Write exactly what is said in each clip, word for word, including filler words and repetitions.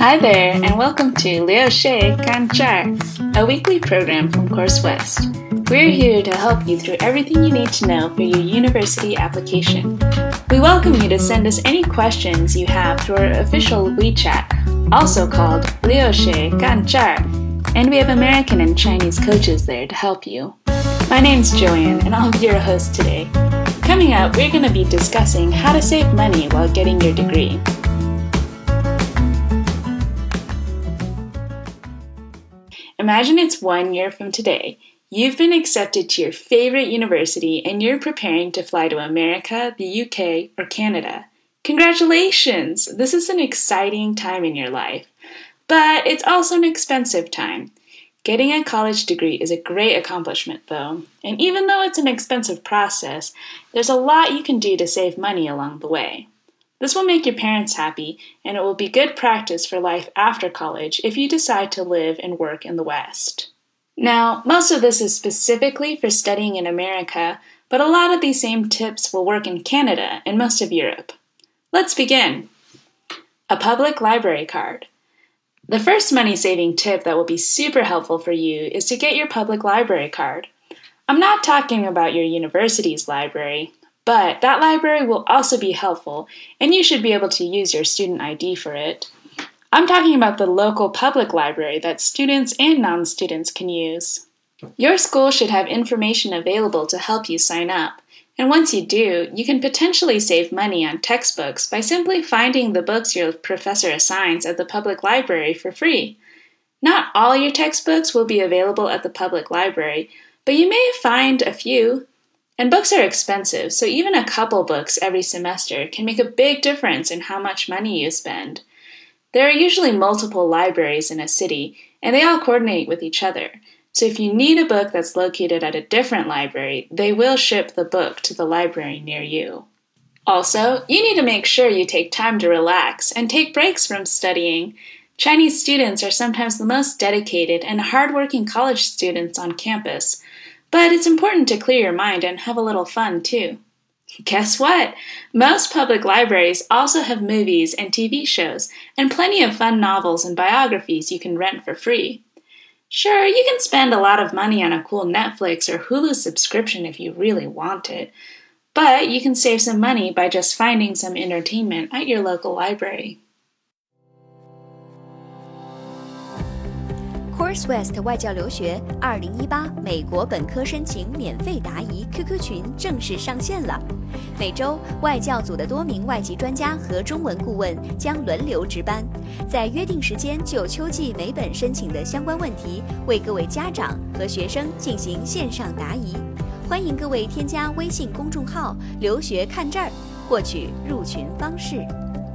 Hi there, and welcome to Liu Shi Gan Zhai, a weekly program from Course West. We're here to help you through everything you need to know for your university application. We welcome you to send us any questions you have through our official WeChat, also called Liu Shi Gan Zhai, and we have American and Chinese coaches there to help you. My name's Joanne, and I'll be your host today. Coming up, we're going to be discussing how to save money while getting your degree. Imagine it's one year from today. You've been accepted to your favorite university and you're preparing to fly to America, the U K, or Canada. Congratulations! This is an exciting time in your life. But it's also an expensive time. Getting a college degree is a great accomplishment, though. And even though it's an expensive process, there's a lot you can do to save money along the way. This will make your parents happy, and it will be good practice for life after college if you decide to live and work in the West. Now, most of this is specifically for studying in America, but a lot of these same tips will work in Canada and most of Europe. Let's begin. A public library card. The first money-saving tip that will be super helpful for you is to get your public library card. I'm not talking about your university's library, but that library will also be helpful, and you should be able to use your student I D for it. I'm talking about the local public library that students and non-students can use. Your school should have information available to help you sign up, and once you do, you can potentially save money on textbooks by simply finding the books your professor assigns at the public library for free. Not all your textbooks will be available at the public library, but you may find a few. And books are expensive, so even a couple books every semester can make a big difference in how much money you spend. There are usually multiple libraries in a city, and they all coordinate with each other. So if you need a book that's located at a different library, they will ship the book to the library near you. Also, you need to make sure you take time to relax and take breaks from studying. Chinese students are sometimes the most dedicated and hardworking college students on campus. But it's important to clear your mind and have a little fun, too. Guess what? Most public libraries also have movies and T V shows, and plenty of fun novels and biographies you can rent for free. Sure, you can spend a lot of money on a cool Netflix or Hulu subscription if you really want it, but you can save some money by just finding some entertainment at your local library. Course West 外教留学二零一八美国本科申请免费答疑 Q Q 群正式上线了。每周外教组的多名外籍专家和中文顾问将轮流值班，在约定时间就秋季美本申请的相关问题为各位家长和学生进行线上答疑。欢迎各位添加微信公众号留学看这儿获取入群方式。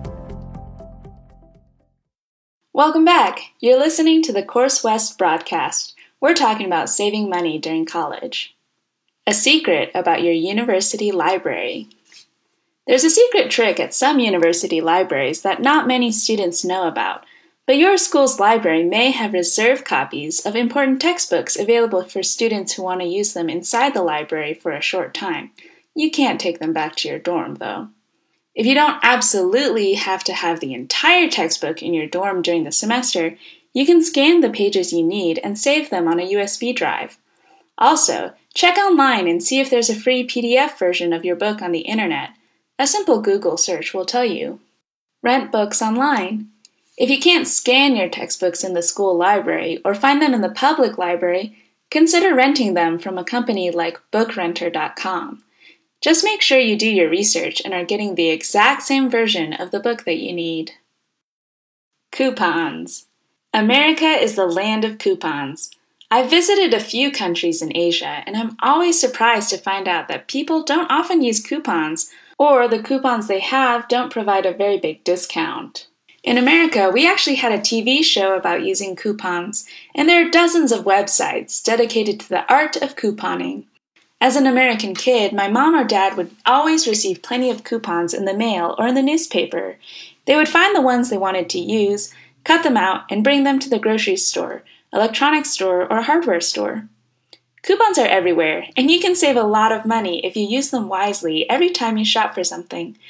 Welcome back! You're listening to the Course West broadcast. We're talking about saving money during college. A secret about your university library. There's a secret trick at some university libraries that not many students know about, but your school's library may have reserved copies of important textbooks available for students who want to use them inside the library for a short time. You can't take them back to your dorm, though. If you don't absolutely have to have the entire textbook in your dorm during the semester, you can scan the pages you need and save them on a U S B drive. Also, check online and see if there's a free P D F version of your book on the internet. A simple Google search will tell you. Rent books online. If you can't scan your textbooks in the school library or find them in the public library, consider renting them from a company like book renter dot com. Just make sure you do your research and are getting the exact same version of the book that you need. Coupons. America is the land of coupons. I've visited a few countries in Asia, and I'm always surprised to find out that people don't often use coupons, or the coupons they have don't provide a very big discount. In America, we actually had a T V show about using coupons, and there are dozens of websites dedicated to the art of couponing. As an American kid, my mom or dad would always receive plenty of coupons in the mail or in the newspaper. They would find the ones they wanted to use, cut them out, and bring them to the grocery store, electronics store, or hardware store. Coupons are everywhere, and you can save a lot of money if you use them wisely every time you shop for something.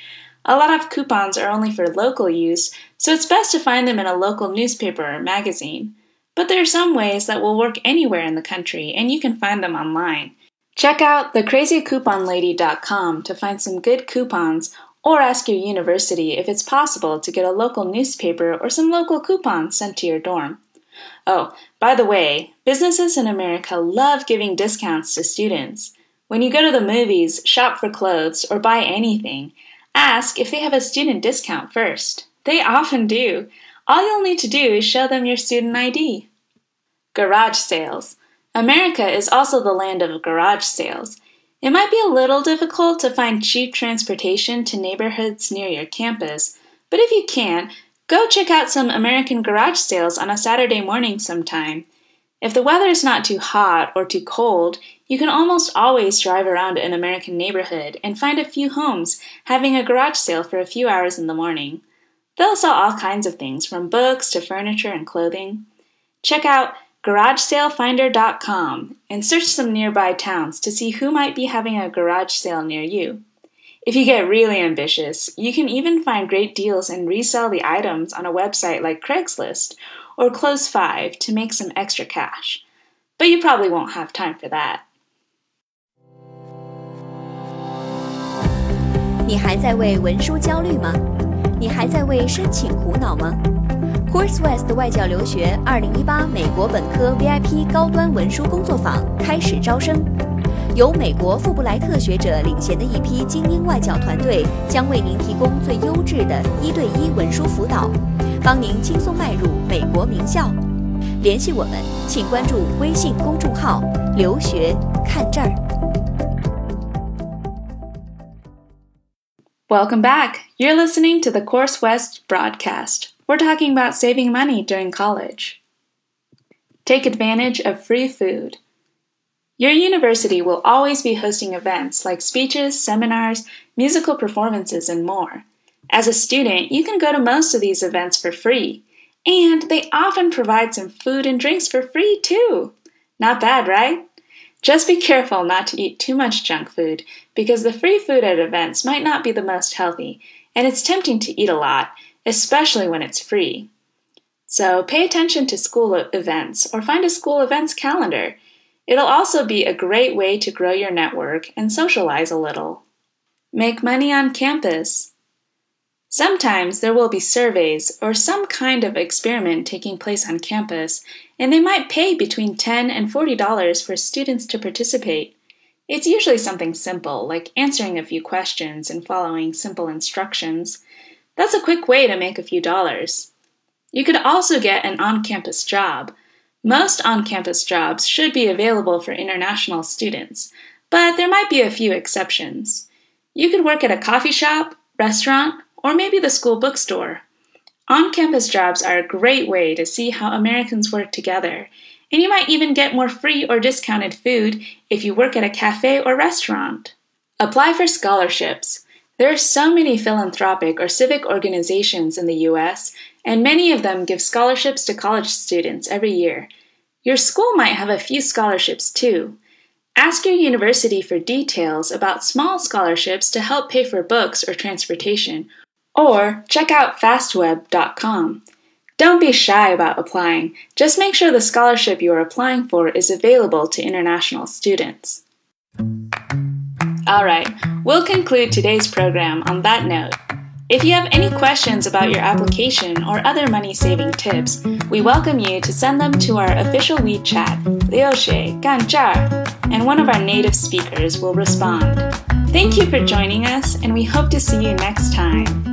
A lot of coupons are only for local use, so it's best to find them in a local newspaper or magazine. But there are some ways that will work anywhere in the country, and you can find them online. Check out the crazy coupon lady dot com to find some good coupons, or ask your university if it's possible to get a local newspaper or some local coupons sent to your dorm. Oh, by the way, businesses in America love giving discounts to students. When you go to the movies, shop for clothes, or buy anything, ask if they have a student discount first. They often do. All you'll need to do is show them your student I D. Garage sales. America is also the land of garage sales. It might be a little difficult to find cheap transportation to neighborhoods near your campus, but if you can, go check out some American garage sales on a Saturday morning sometime. If the weather is not too hot or too cold, you can almost always drive around an American neighborhood and find a few homes having a garage sale for a few hours in the morning. They'll sell all kinds of things, from books to furniture and clothing. Check out garage sale finder dot com and search some nearby towns to see who might be having a garage sale near you. If you get really ambitious, you can even find great deals and resell the items on a website like Craigslist or Close five to make some extra cash. But you probably won't have time for that. 你还在为文书焦虑吗？你还在为申请苦恼吗？ CourseWest 外教留学二零一八美国本科 V I P 高端文书工作坊开始招生，由美国富布莱特学者领衔的一批精英外教团队将为您提供最优质的一对一文书辅导，帮您轻松迈入美国名校。联系我们，请关注微信公众号“留学看这儿”。 Welcome back. You're listening to the CourseWest broadcast. We're talking about saving money during college. Take advantage of free food. Your university will always be hosting events like speeches, seminars, musical performances, and more. As a student, you can go to most of these events for free, and they often provide some food and drinks for free too. Not bad, right? Just be careful not to eat too much junk food, because the free food at events might not be the most healthy, and it's tempting to eat a lot, especially when it's free. So pay attention to school events or find a school events calendar. It'll also be a great way to grow your network and socialize a little. Make money on campus. Sometimes there will be surveys or some kind of experiment taking place on campus, and they might pay between ten dollars and forty dollars for students to participate. It's usually something simple, like answering a few questions and following simple instructions. That's a quick way to make a few dollars. You could also get an on-campus job. Most on-campus jobs should be available for international students, but there might be a few exceptions. You could work at a coffee shop, restaurant, or maybe the school bookstore. On-campus jobs are a great way to see how Americans work together, and you might even get more free or discounted food if you work at a cafe or restaurant. Apply for scholarships. There are so many philanthropic or civic organizations in the U S, and many of them give scholarships to college students every year. Your school might have a few scholarships too. Ask your university for details about small scholarships to help pay for books or transportation, or check out fastweb dot com. Don't be shy about applying. Just make sure the scholarship you are applying for is available to international students. All right, we'll conclude today's program on that note. If you have any questions about your application or other money-saving tips, we welcome you to send them to our official WeChat, 留学干这儿, and one of our native speakers will respond. Thank you for joining us, and we hope to see you next time.